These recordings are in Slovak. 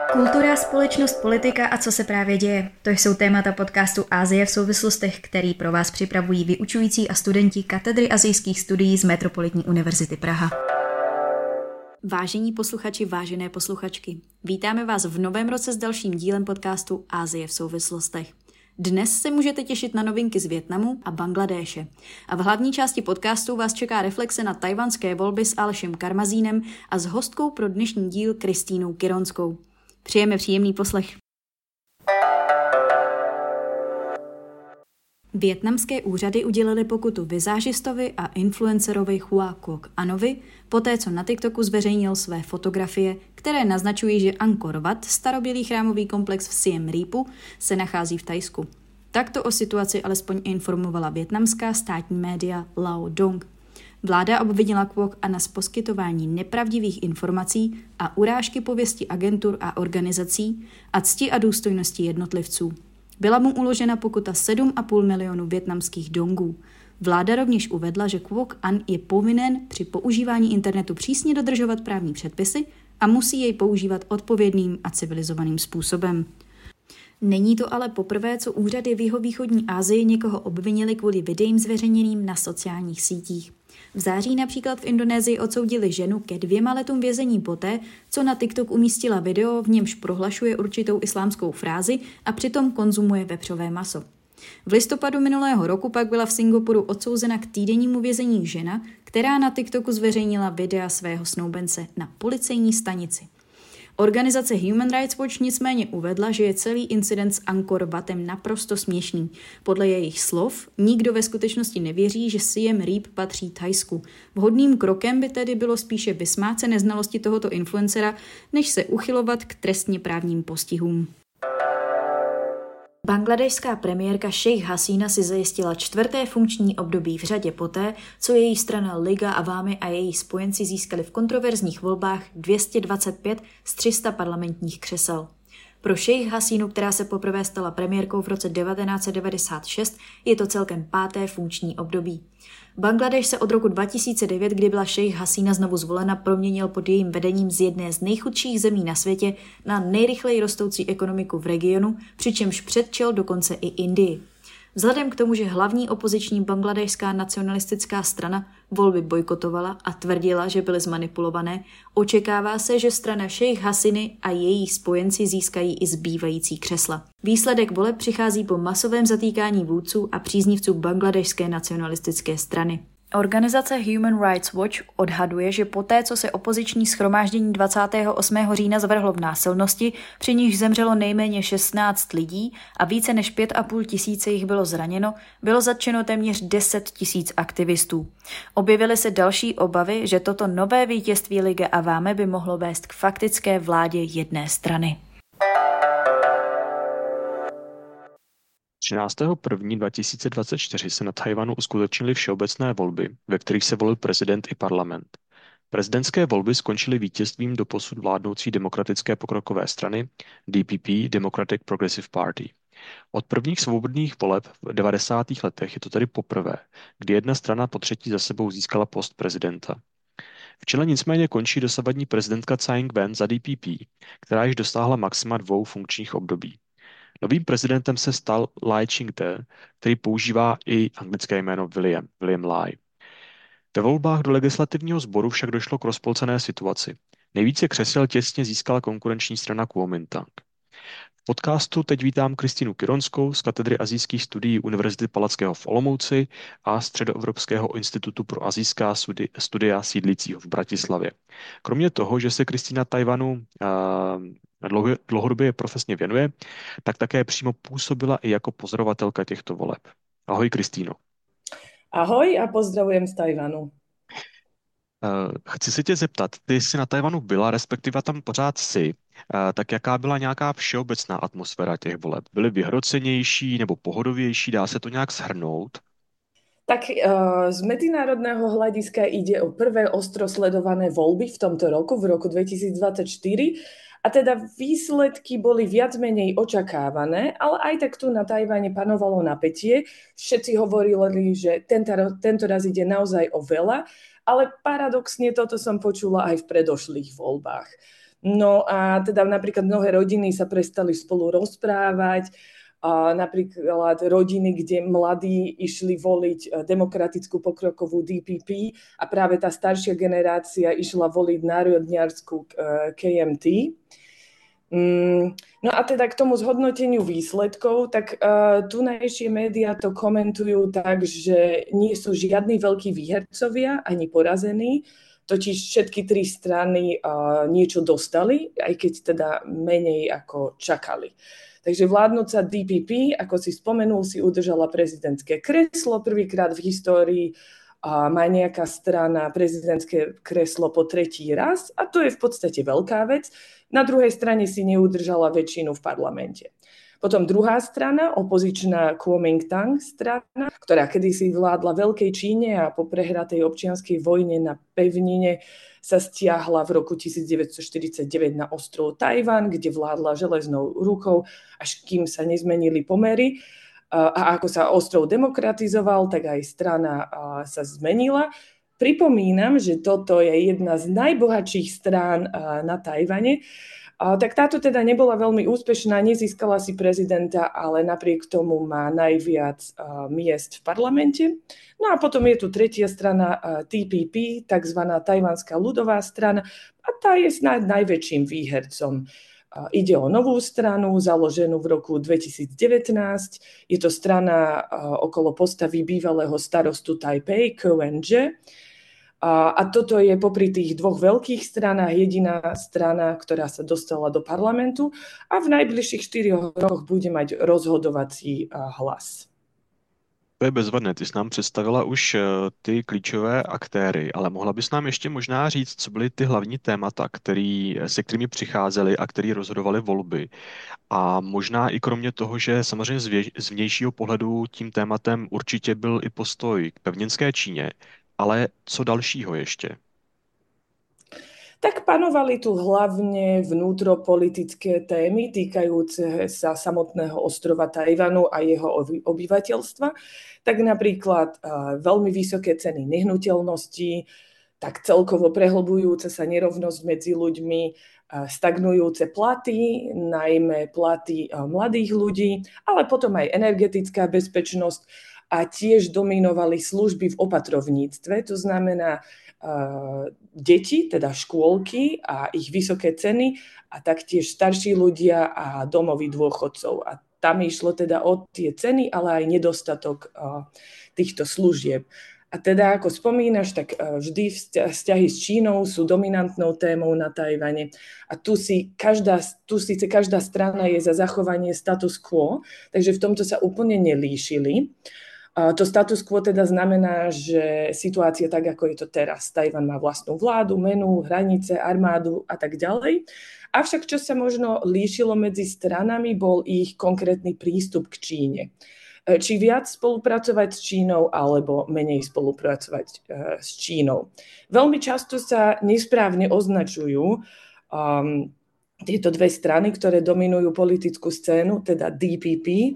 Kultura, společnost, politika a co se právě děje. To jsou témata podcastu Asie v souvislostech, který pro vás připravují vyučující a studenti katedry asijských studií z Metropolitní univerzity Praha. Vážení posluchači, vážené posluchačky, vítáme vás v novém roce s dalším dílem podcastu Asie v souvislostech. Dnes se můžete těšit na novinky z Vietnamu a Bangladéše. A v hlavní části podcastu vás čeká reflexe na tajvanské volby s Alešem Karmazínem a s hostkou pro dnešní díl Kristínou Kironskou. Přejeme příjemný poslech. Vietnamské úřady udělily pokutu vizážistovi a influencerovi Hoa Quoc Anovi, poté co na TikToku zveřejnil své fotografie, které naznačují, že Angkor Wat, starobylý chrámový komplex v Siem Reapu, se nachází v Thajsku. Takto o situaci alespoň informovala vietnamská státní média Lao Dong. Vláda obvinila Quoc Ana z poskytování nepravdivých informací a urážky pověsti agentur a organizací a cti a důstojnosti jednotlivců. Byla mu uložena pokuta 7,5 milionu vietnamských dongů. Vláda rovněž uvedla, že Quoc An je povinen při používání internetu přísně dodržovat právní předpisy a musí jej používat odpovědným a civilizovaným způsobem. Není to ale poprvé, co úřady v jihovýchodní Asii někoho obvinili kvůli videím zveřejněným na sociálních sítích. V září například v Indonésii odsoudili ženu ke 2 letům vězení poté, co na TikTok umístila video, v němž prohlašuje určitou islámskou frázi a přitom konzumuje vepřové maso. V listopadu minulého roku pak byla v Singapuru odsouzena k týdennímu vězení žena, která na TikToku zveřejnila videa svého snoubence na policejní stanici. Organizace Human Rights Watch nicméně uvedla, že je celý incident s Angkor Watem naprosto směšný. Podle jejich slov nikdo ve skutečnosti nevěří, že Siem Reap patří Thajsku. Vhodným krokem by tedy bylo spíše vysmát se neznalosti tohoto influencera, než se uchylovat k trestně právním postihům. Bangladešská premiérka Sheikh Hasina si zajistila 4. funkční období v řadě poté, co její strana Liga Awami a její spojenci získali v kontroverzních volbách 225 z 300 parlamentních křesel. Pro Sheikh Hasinu, která se poprvé stala premiérkou v roce 1996, je to celkem 5. funkční období. Bangladeš se od roku 2009, kdy byla Sheikh Hasina znovu zvolena, proměnil pod jejím vedením z jedné z nejchudších zemí na světě na nejrychleji rostoucí ekonomiku v regionu, přičemž předčil dokonce i Indii. Vzhledem k tomu, že hlavní opoziční bangladešská nacionalistická strana volby bojkotovala a tvrdila, že byly zmanipulované, očekává se, že strana Sheikh Hasiny a její spojenci získají i zbývající křesla. Výsledek voleb přichází po masovém zatýkání vůdců a příznivců bangladešské nacionalistické strany. Organizace Human Rights Watch odhaduje, že poté, co se opoziční shromáždění 28. října zvrhlo v násilnosti, při níž zemřelo nejméně 16 lidí a více než 5,5 tisíce jich bylo zraněno, bylo zatčeno téměř 10 tisíc aktivistů. Objevily se další obavy, že toto nové vítězství Ligy Awami by mohlo vést k faktické vládě jedné strany. 13.1.2024 se na Tchaj-wanu uskutečnily všeobecné volby, ve kterých se volil prezident i parlament. Prezidentské volby skončily vítězstvím doposud vládnoucí demokratické pokrokové strany DPP, Democratic Progressive Party. Od prvních svobodných voleb v 90. letech je to tedy poprvé, kdy jedna strana po třetí za sebou získala post prezidenta. V čele nicméně končí dosavadní prezidentka Tsai Ing-wen za DPP, která již dosáhla maxima 2 funkčních období. Novým prezidentem se stal Lai Ching-te, který používá i anglické jméno William Lai. Ve volbách do legislativního sboru však došlo k rozpolcené situaci. Nejvíce křesel těsně získala konkurenční strana Kuomintang. V podcastu teď vítám Kristínu Kironskou z katedry asijských studií Univerzity Palackého v Olomouci a Středoevropského institutu pro asijská studia sídlícího v Bratislavě. Kromě toho, že se Kristína Tchaj-wanu dlouhodobě profesně věnuje, tak také přímo působila i jako pozorovatelka těchto voleb. Ahoj, Kristýno. Ahoj a pozdravujem z Tchaj-wanu. Chci se tě zeptat, ty jsi na Tchaj-wanu byla, respektive tam pořád jsi, tak jaká byla nějaká všeobecná atmosféra těch voleb? Byly vyhrocenější nebo pohodovější? Dá se to nějak shrnout? Tak z medzinárodného hľadiska ide o prvé ostro sledované voľby v tomto roku, v roku 2024. A teda výsledky boli viac menej očakávané, ale aj tak tu na Tchaj-wane panovalo napätie. Všetci hovorili, že tento raz ide naozaj o veľa, ale paradoxne toto som počula aj v predošlých voľbách. No a teda napríklad mnohé rodiny sa prestali spolu rozprávať, a napríklad rodiny, kde mladí išli voliť demokratickú pokrokovú DPP a práve tá staršia generácia išla voliť národniarsku KMT. No a teda k tomu zhodnoteniu výsledkov, tak tunajšie médiá to komentujú tak, že nie sú žiadni veľkí výhercovia ani porazení, totiž všetky tri strany niečo dostali, aj keď teda menej ako čakali. Takže vládnúca DPP, ako si spomenul, si udržala prezidentské kreslo prvýkrát v histórii, má nejaká strana prezidentské kreslo po tretí raz a to je v podstate veľká vec. Na druhej strane si neudržala väčšinu v parlamente. Potom druhá strana, opozičná Kuomintang strana, ktorá kedysi vládla Veľkej Číne a po prehratej občianskej vojne na pevnine sa stiahla v roku 1949 na ostrov Tajvan, kde vládla železnou rukou, až kým sa nezmenili pomery. A ako sa ostrov demokratizoval, tak aj strana sa zmenila. Pripomínam, že toto je jedna z najbohatších strán na Tajvane. Tak táto teda nebola veľmi úspešná, nezískala si prezidenta, ale napriek tomu má najviac miest v parlamente. No a potom je tu tretia strana TPP, takzvaná Tajvanská ľudová strana, a tá je snáď najväčším výhercom. Ide o novú stranu, založenú v roku 2019. Je to strana okolo postavy bývalého starostu Taipei, Ko Wen-je. A toto je popri tých dvoch veľkých stranách jediná strana, ktorá sa dostala do parlamentu a v najbližších 4 rokoch bude mať rozhodovací hlas. To je bezvadné, ty jsi nám představila už ty klíčové aktéry, ale mohla bys nám ještě možná říct, co byly ty hlavní témata, se kterými přicházely a který rozhodovaly volby. A možná i kromě toho, že samozřejmě z vnějšího pohledu tím tématem určitě byl i postoj k pevninské Číně, ale co dalšího ještě? Tak panovali tu hlavne vnútropolitické témy týkajúce sa samotného ostrova Tajvanu a jeho obyvateľstva. Tak napríklad veľmi vysoké ceny nehnuteľností, tak celkovo prehlbujúca sa nerovnosť medzi ľuďmi, stagnujúce platy, najmä platy mladých ľudí, ale potom aj energetická bezpečnosť a tiež dominovali služby v opatrovníctve, to znamená deti, teda škôlky a ich vysoké ceny a taktiež starší ľudia a domovy dôchodcov. A tam išlo teda o tie ceny, ale aj nedostatok týchto služieb. A teda, ako spomínaš, tak vždy vzťahy s Čínou sú dominantnou témou na Tajvane. A tu síce každá strana je za zachovanie status quo, takže v tomto sa úplne nelíšili. To status quo teda znamená, že situácia tak, ako je to teraz. Tajvan má vlastnú vládu, menu, hranice, armádu a tak ďalej. Avšak, čo sa možno líšilo medzi stranami, bol ich konkrétny prístup k Číne. Či viac spolupracovať s Čínou, alebo menej spolupracovať s Čínou. Veľmi často sa nesprávne označujú tieto dve strany, ktoré dominujú politickú scénu, teda DPP,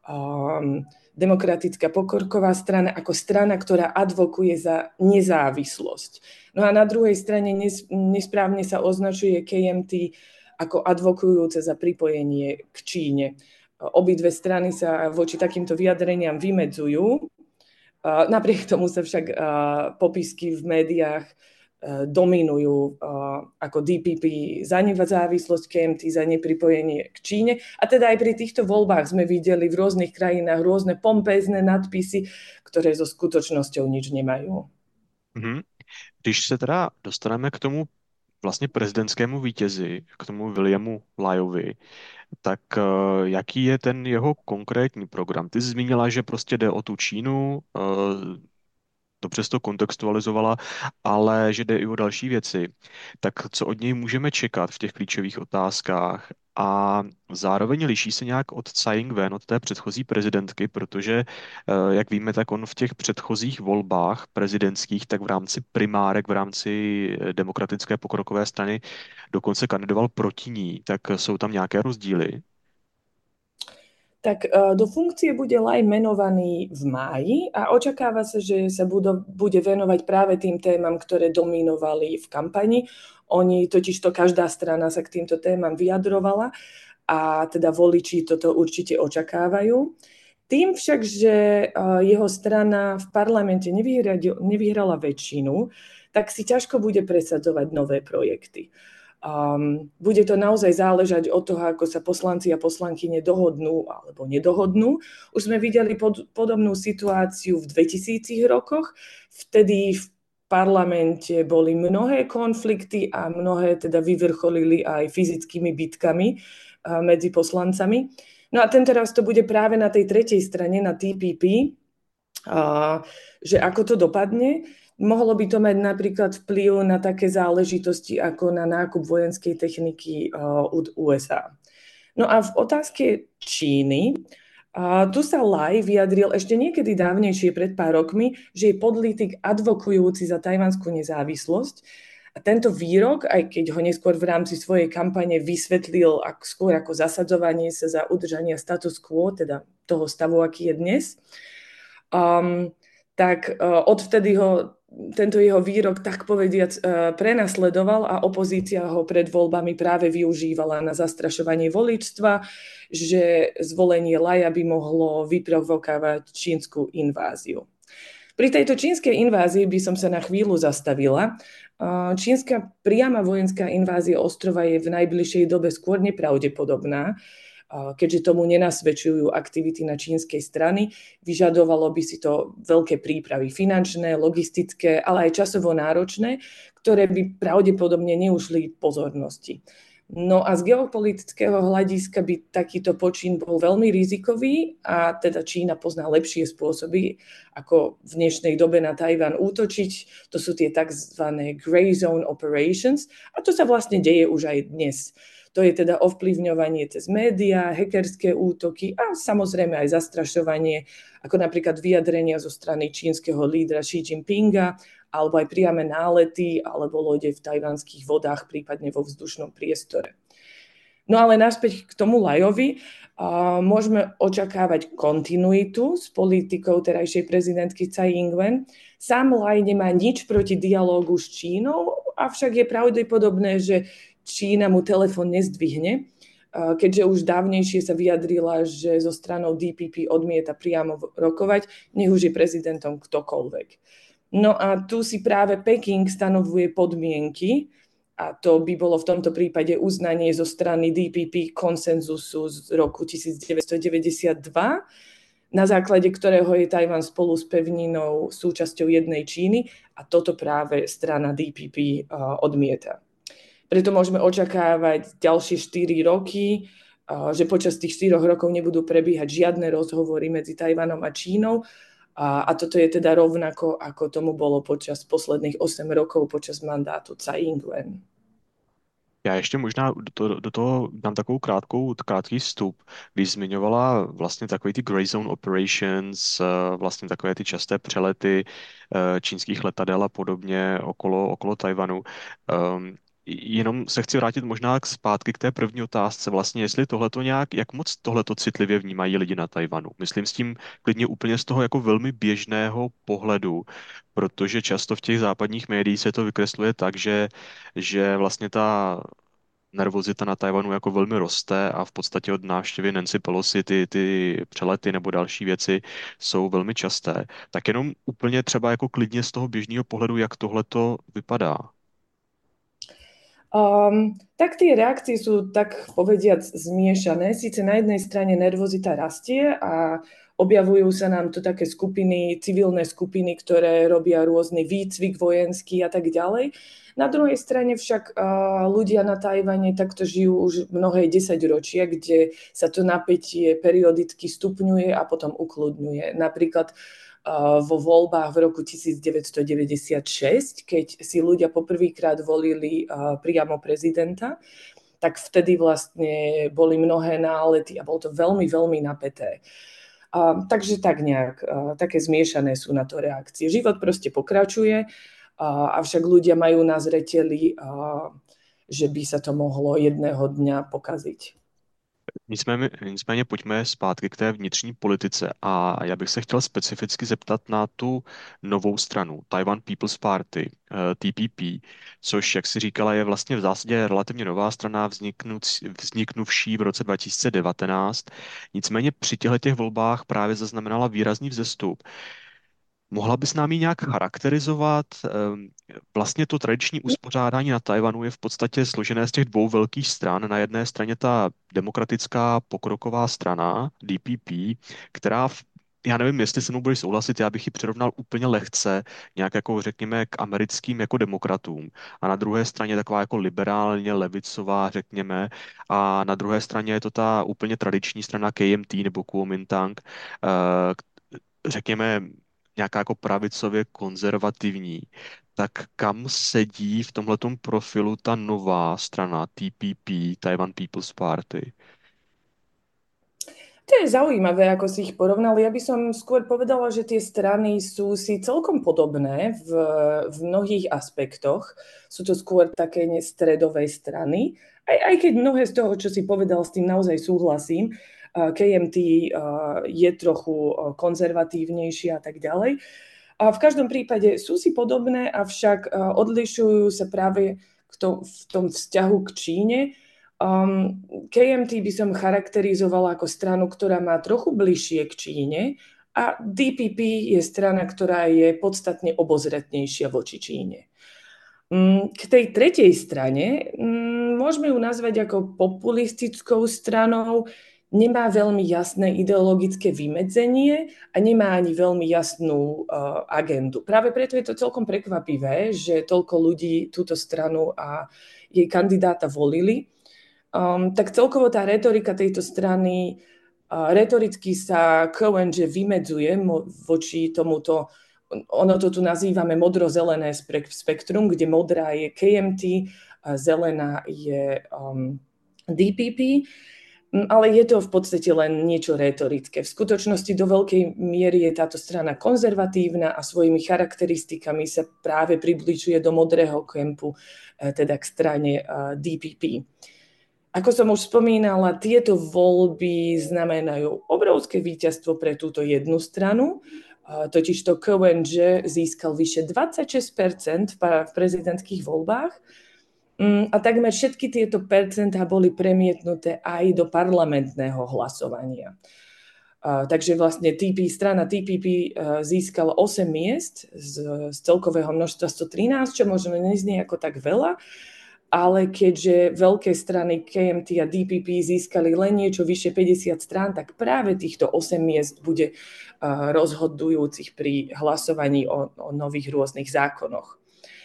Demokratická pokorková strana, ako strana, ktorá advokuje za nezávislosť. No a na druhej strane nesprávne sa označuje KMT ako advokujúce za pripojenie k Číne. Obidve strany sa voči takýmto vyjadreniam vymedzujú. Napriek tomu sa však popisky v médiách dominujú ako DPP za nezávislosť, KMT za nepripojenie k Číne. A teda aj pri týchto voľbách sme videli v rôznych krajinách rôzne pompézne nadpisy, ktoré so skutočnosťou nič nemajú. Když se teda dostaneme k tomu vlastně prezidentskému vítězi, k tomu Williamu Lyovi, tak jaký je ten jeho konkrétní program? Ty jsi zmínila, že prostě jde o tu Čínu, dobře jsi to kontextualizovala, ale že jde i o další věci. Tak co od něj můžeme čekat v těch klíčových otázkách? A zároveň liší se nějak od Tsai Ing-wen, od té předchozí prezidentky, protože, jak víme, tak on v těch předchozích volbách prezidentských, tak v rámci primárek, v rámci Demokratické pokrokové strany dokonce kandidoval proti ní. Tak jsou tam nějaké rozdíly? Tak do funkcie bude Lai menovaný v máji a očakáva sa, že sa bude venovať práve tým témam, ktoré dominovali v kampani. Oni totižto každá strana sa k týmto témam vyjadrovala a teda voliči toto určite očakávajú. Tým však, že jeho strana v parlamente nevyhrala väčšinu, tak si ťažko bude presadzovať nové projekty. Bude to naozaj záležať od toho, ako sa poslanci a poslankyne dohodnú alebo nedohodnú. Už sme videli podobnú situáciu v 2000 rokoch. Vtedy v parlamente boli mnohé konflikty a mnohé teda vyvrcholili aj fyzickými bitkami medzi poslancami. No a tento raz to bude práve na tej tretej strane, na TPP, že ako to dopadne. Mohlo by to mať napríklad vplyv na také záležitosti ako na nákup vojenskej techniky od USA. No a v otázke Číny, tu sa Lai vyjadril ešte niekedy dávnejšie pred pár rokmi, že je politik advokujúci za tajvanskú nezávislosť. A tento výrok, aj keď ho neskôr v rámci svojej kampane vysvetlil skôr ako zasadzovanie sa za udržanie status quo, teda toho stavu, aký je dnes, tak odvtedy ho tento jeho výrok, tak povediac, prenasledoval a opozícia ho pred voľbami práve využívala na zastrašovanie voličstva, že zvolenie Laja by mohlo vyprovokovať čínsku inváziu. Pri tejto čínskej invázii by som sa na chvíľu zastavila. Čínska priama vojenská invázia ostrova je v najbližšej dobe skôr nepravdepodobná, keďže tomu nenasvedčujú aktivity na čínskej strany. Vyžadovalo by si to veľké prípravy finančné, logistické, ale aj časovo náročné, ktoré by pravdepodobne neušli pozornosti. No a z geopolitického hľadiska by takýto počin bol veľmi rizikový a teda Čína pozná lepšie spôsoby, ako v dnešnej dobe na Tajvan útočiť. To sú tie tzv. Gray Zone Operations a to sa vlastne deje už aj dnes. To je teda ovplyvňovanie cez médiá, hackerské útoky a samozrejme aj zastrašovanie, ako napríklad vyjadrenia zo strany čínskeho lídra Xi Jinpinga, alebo aj priame nálety alebo lode v tajvanských vodách, prípadne vo vzdušnom priestore. No ale naspäť k tomu Lajovi, môžeme očakávať kontinuitu s politikou terajšej prezidentky Tsai Ing-wen. Sám Lai nemá nič proti dialógu s Čínou, avšak je pravdepodobné, že Čína mu telefón nezdvihne, keďže už dávnejšie sa vyjadrila, že so stranou DPP odmieta priamo rokovať, nech už je prezidentom ktokoľvek. No a tu si práve Peking stanovuje podmienky a to by bolo v tomto prípade uznanie zo strany DPP konsenzusu z roku 1992, na základe ktorého je Tajvan spolu s pevninou súčasťou jednej Číny a toto práve strana DPP odmieta. Preto môžeme očakávať ďalšie 4 roky, že počas tých 4 rokov nebudú prebiehať žiadne rozhovory medzi Tajvanom a Čínou. A toto je teda rovnako, ako tomu bolo počas posledných 8 rokov počas mandátu Tsai Ing-wen. Já ještě možná do toho dám takovou krátký vstup, když zmiňovala vlastně takový ty Gray Zone Operations, vlastně takové ty časté přelety čínských letadel a podobně okolo Tajvanu. Jenom se chci vrátit možná zpátky k té první otázce, vlastně jestli tohleto nějak, jak moc tohleto citlivě vnímají lidi na Tajvanu. Myslím s tím klidně úplně z toho jako velmi běžného pohledu, protože často v těch západních médiích se to vykresluje tak, že vlastně ta nervozita na Tajvanu jako velmi roste a v podstatě od návštěvy Nancy Pelosi ty přelety nebo další věci jsou velmi časté. Tak jenom úplně třeba jako klidně z toho běžného pohledu, jak tohleto vypadá. Tak tie reakcie sú tak povediac zmiešané. Sice na jednej strane nervozita rastie a objavujú sa nám tu také skupiny, civilné skupiny, ktoré robia rôzny výcvik vojenský a tak ďalej. Na druhej strane však ľudia na Tajvane takto žijú už mnohé 10 ročia, kde sa to napätie periodicky stupňuje a potom ukludňuje. Napríklad vo voľbách v roku 1996, keď si ľudia poprvýkrát volili priamo prezidenta, tak vtedy vlastne boli mnohé nálety a bolo to veľmi, veľmi napäté. Takže tak nejak, také zmiešané sú na to reakcie. Život proste pokračuje, avšak ľudia majú na zreteli, že by sa to mohlo jedného dňa pokaziť. Nicméně pojďme zpátky k té vnitřní politice a já bych se chtěl specificky zeptat na tu novou stranu, Taiwan People's Party, TPP, což, jak si říkala, je vlastně v zásadě relativně nová strana vzniknuvší v roce 2019. Nicméně při těchto volbách právě zaznamenala výrazný vzestup. Mohla bys nám ji nějak charakterizovat? Vlastně to tradiční uspořádání na Tajvanu je v podstatě složené z těch dvou velkých stran. Na jedné straně ta demokratická pokroková strana, DPP, která já nevím, jestli se mnou budeš souhlasit, já bych ji přirovnal úplně lehce, nějak jako řekněme k americkým jako demokratům. A na druhé straně taková jako liberálně levicová, řekněme. A na druhé straně je to ta úplně tradiční strana KMT nebo Kuomintang, řekněme, nějaká jako pravicově konzervativní, tak kam sedí v tomhletom profilu ta nová strana TPP, Taiwan People's Party? To je zaujímavé, ako si ich porovnali. Ja by som skôr povedala, že tie strany sú si celkom podobné v mnohých aspektoch. Sú to skôr také stredové strany. Aj keď mnohé z toho, čo si povedal, s tým naozaj súhlasím. KMT je trochu konzervatívnejší a tak ďalej. A v každom prípade sú si podobné, avšak odlišujú sa práve v tom vzťahu k Číne. KMT by som charakterizovala ako stranu, ktorá má trochu bližšie k Číne a DPP je strana, ktorá je podstatne obozretnejšia voči Číne. K tej tretej strane môžeme ju nazvať ako populistickou stranou, nemá veľmi jasné ideologické vymedzenie a nemá ani veľmi jasnú agendu. Práve preto je to celkom prekvapivé, že toľko ľudí túto stranu a jej kandidáta volili. Tak celkovo tá retorika tejto strany, retoricky sa KNG vymedzuje voči tomuto, ono to tu nazývame modro-zelené spektrum, kde modrá je KMT, zelená je DPP, ale je to v podstate len niečo retorické. V skutočnosti do veľkej miery je táto strana konzervatívna a svojimi charakteristikami sa práve približuje do modrého kempu, teda k strane DPP. Ako som už spomínala, tieto voľby znamenajú obrovské víťazstvo pre túto jednu stranu, totižto KNG získal vyše 26% v prezidentských voľbách a takmer všetky tieto percentá boli premietnuté aj do parlamentného hlasovania. Takže vlastne strana TPP získala 8 miest z celkového množstva 113, čo možno neznie ako tak veľa, ale keďže veľké strany KMT a DPP získali len niečo vyše 50 strán, tak práve týchto 8 miest bude rozhodujúcich pri hlasovaní o nových rôznych zákonoch.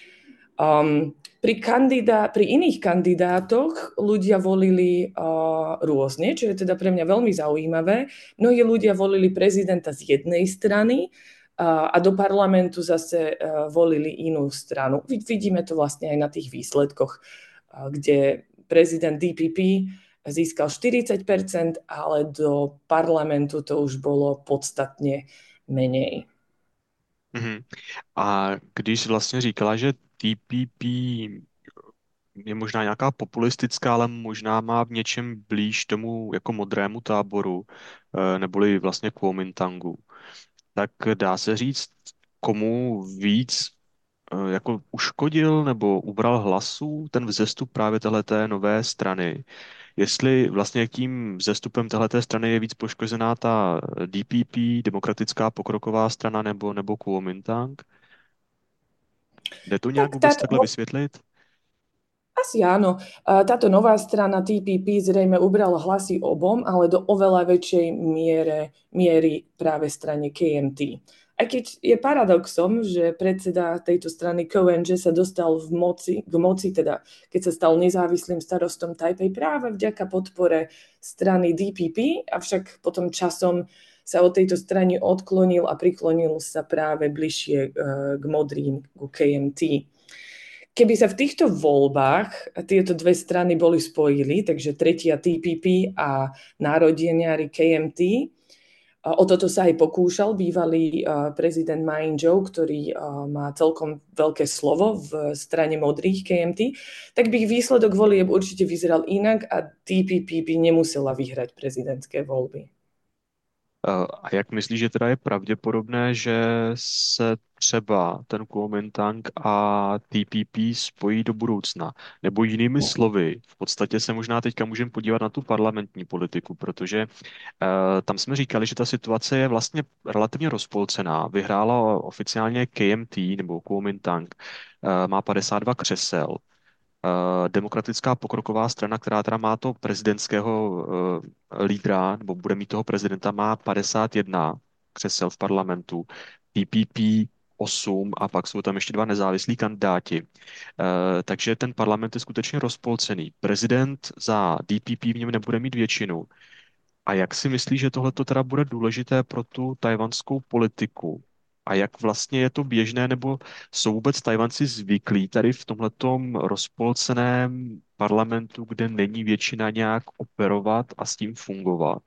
Pri iných kandidátoch ľudia volili rôzne, čo je teda pre mňa veľmi zaujímavé. Mnohí ľudia volili prezidenta z jednej strany, a do parlamentu zase volili inú stranu. Vidíme to vlastne aj na tých výsledkoch, kde prezident DPP získal 40%, ale do parlamentu to už bolo podstatne menej. Mhm. A když vlastně říkala, že TPP je možná nějaká populistická, ale možná má v něčem blíž tomu jako modrému táboru, neboli vlastně Kuomintangu, tak dá se říct, komu víc jako uškodil nebo ubral hlasů ten vzestup právě téhleté nové strany. Jestli vlastně tím vzestupem téhleté strany je víc poškozená ta DPP, Demokratická pokroková strana nebo Kuomintang? Jde to nějak vůbec takhle vysvětlit? Asi áno. Táto nová strana TPP zrejme ubrala hlasy obom, ale do oveľa väčšej miery práve strane KMT. Aj keď je paradoxom, že predseda tejto strany KNG sa dostal k moci, teda keď sa stal nezávislým starostom Taipei práve vďaka podpore strany DPP, avšak potom časom sa od tejto strany odklonil a priklonil sa práve bližšie k modrým, ku KMT. Keby sa v týchto voľbách tieto dve strany boli spojili, takže tretia TPP a národeniari KMT, O toto sa aj pokúšal bývalý prezident Ma Ying-jeou, ktorý má celkom veľké slovo v strane modrých KMT, tak by výsledok volieb určite vyzeral inak a DPP by nemusela vyhrať prezidentské voľby. A jak myslíš, že teda je pravděpodobné, že se třeba ten Kuomintang a TPP spojí do budoucna? Nebo jinými slovy, v podstatě se možná teďka můžeme podívat na tu parlamentní politiku, protože tam jsme říkali, že ta situace je vlastně relativně rozpolcená. Vyhrála oficiálně KMT nebo Kuomintang, má 52 křesel. Demokratická pokroková strana, která teda má to prezidentského lídra, nebo bude mít toho prezidenta, má 51 křesel v parlamentu, TPP 8 a pak jsou tam ještě dva nezávislí kandidáti. Takže ten parlament je skutečně rozpolcený. Prezident za DPP v něm nebude mít většinu. A jak si myslíš, že tohle teda bude důležité pro tu tajvanskou politiku? A jak vlastně je to běžné, nebo jsou vůbec Tajvanci zvyklí tady v tomhletom rozpolceném parlamentu, kde není většina, nějak operovat a s tím fungovat?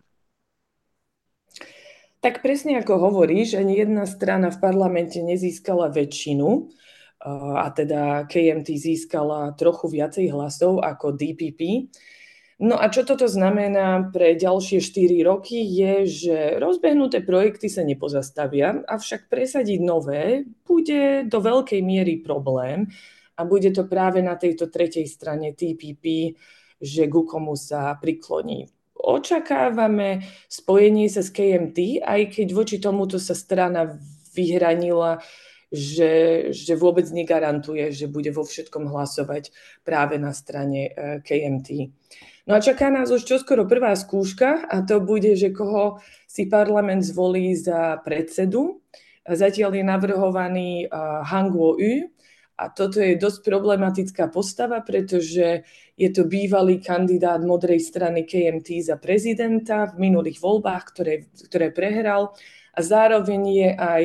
Tak presne ako hovoríš, ani jedna strana v parlamente nezískala väčšinu, a teda KMT získala trochu viacej hlasov ako DPP. No a čo toto znamená pre ďalšie 4 roky je, že rozbehnuté projekty sa nepozastavia, avšak presadiť nové bude do veľkej miery problém a bude to práve na tejto tretej strane TPP, že ku komu sa prikloní. Očakávame spojenie sa s KMT, aj keď voči tomuto sa strana vyhranila, že vôbec negarantuje, že bude vo všetkom hlasovať práve na strane KMT. No a čaká nás už čoskoro prvá skúška a to bude, že koho si parlament zvolí za predsedu. Zatiaľ je navrhovaný Han Kuo-yu a toto je dosť problematická postava, pretože je to bývalý kandidát modrej strany KMT za prezidenta v minulých voľbách, ktoré prehral a zároveň je aj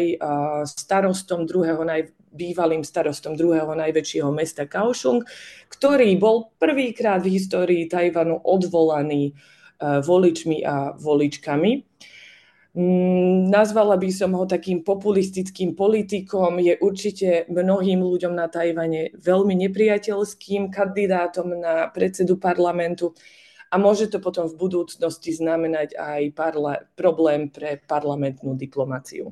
bývalým starostom druhého najväčšieho mesta Kaohsiung, ktorý bol prvýkrát v histórii Tajvanu odvolaný voličmi a voličkami. Nazvala by som ho takým populistickým politikom, je určite mnohým ľuďom na Tajvane veľmi nepriateľským kandidátom na predsedu parlamentu a môže to potom v budúcnosti znamenať aj problém pre parlamentnú diplomáciu.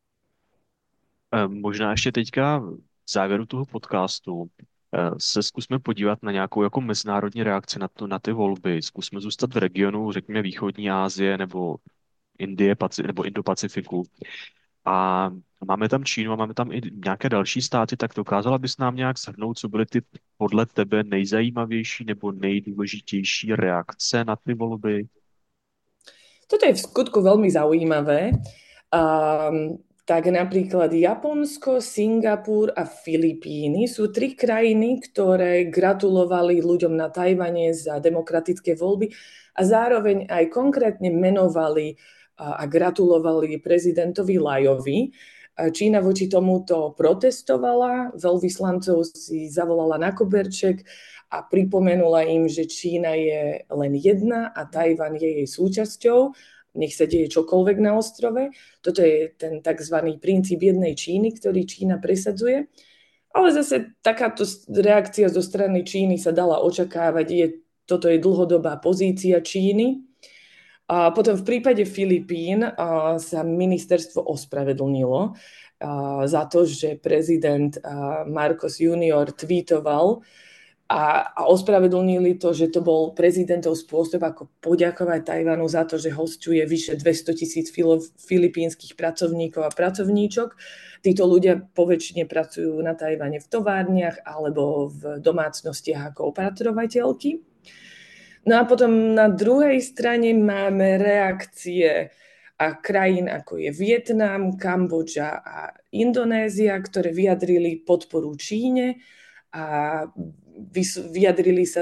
Možná ještě teďka v závěru toho podcastu se zkusme podívat na nějakou jako mezinárodní reakci na ty volby. Zkusme zůstat v regionu, řekněme východní Asie nebo Indie nebo Indo-Pacifiku. A máme tam Čínu a máme tam i nějaké další státy, tak dokázala bys nám nějak shrnout, co byly ty podle tebe nejzajímavější nebo nejdůležitější reakce na ty volby? Toto je v skutku veľmi zaujímavé. Tak napríklad Japonsko, Singapur a Filipíny sú 3 krajiny, ktoré gratulovali ľuďom na Tajvane za demokratické voľby a zároveň aj konkrétne menovali a gratulovali prezidentovi Lajovi. Čína voči tomuto protestovala, veľvyslancov si zavolala na koberček a pripomenula im, že Čína je len jedna a Tajvan je jej súčasťou. Nech sa deje čokoľvek na ostrove. Toto je ten tzv. Princíp jednej Číny, ktorý Čína presadzuje. Ale zase takáto reakcia zo strany Číny sa dala očakávať. Toto je dlhodobá pozícia Číny. A potom v prípade Filipín sa ministerstvo ospravedlnilo za to, že prezident Marcos Junior tweetoval a ospravedlnili to, že to bol prezidentov spôsob, ako poďakovať Tajvanu za to, že hosťuje vyše 200 000 filipínskych pracovníkov a pracovníčok. Títo ľudia poväčšine pracujú na Tajvane v továrniach alebo v domácnostiach ako opatrovateľky. No a potom na druhej strane máme reakcie krajín ako je Vietnam, Kambodža a Indonézia, ktoré vyjadrili podporu Číne a vyjadrili sa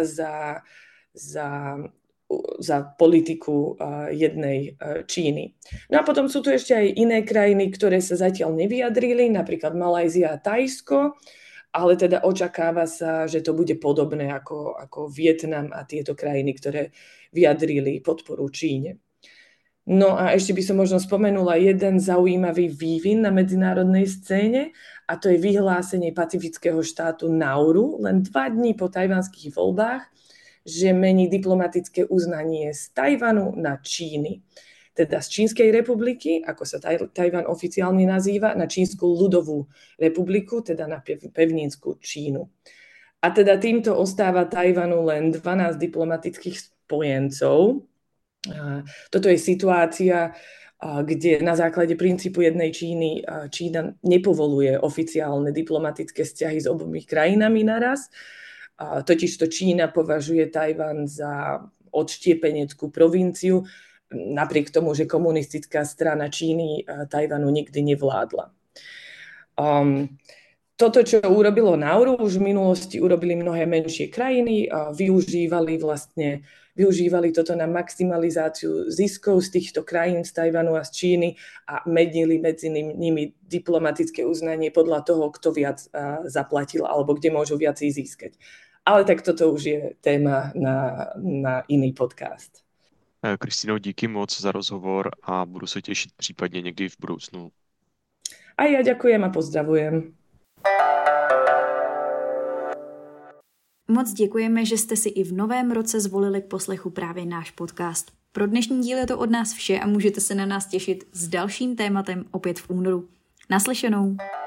za politiku jednej Číny. No a potom sú tu ešte aj iné krajiny, ktoré sa zatiaľ nevyjadrili, napríklad Malajzia a Thajsko, ale teda očakáva sa, že to bude podobné ako Vietnam a tieto krajiny, ktoré vyjadrili podporu Číne. No a ešte by som možno spomenula jeden zaujímavý vývin na medzinárodnej scéne, a to je vyhlásenie pacifického štátu Nauru len 2 dní po tajvanských voľbách, že mení diplomatické uznanie z Tajvanu na Číny. Teda z Čínskej republiky, ako sa Tajvan oficiálne nazýva, na Čínsku ľudovú republiku, teda na pevninskú Čínu. A teda týmto ostáva Tajvanu len 12 diplomatických spojencov. Toto je situácia, kde na základe princípu jednej Číny Čína nepovoluje oficiálne diplomatické vzťahy s obomi krajinami naraz. Totižto Čína považuje Tajvan za odštiepeneckú provinciu, napriek tomu, že komunistická strana Číny Tajvanu nikdy nevládla. Toto, čo urobilo Nauru, už v minulosti urobili mnohé menšie krajiny a využívali toto na maximalizáciu ziskov z týchto krajín, z Tajvanu a z Číny a menili medzi nimi diplomatické uznanie podľa toho, kto viac zaplatil alebo kde môžu viac získať. Ale tak toto už je téma na iný podcast. Kristýno, díky moc za rozhovor a budu se těšit případně někdy v budoucnu. A ja ďakujem a pozdravujem. Moc děkujeme, že jste si i v novém roce zvolili k poslechu právě náš podcast. Pro dnešní díl je to od nás vše a můžete se na nás těšit s dalším tématem opět v únoru. Naslyšenou.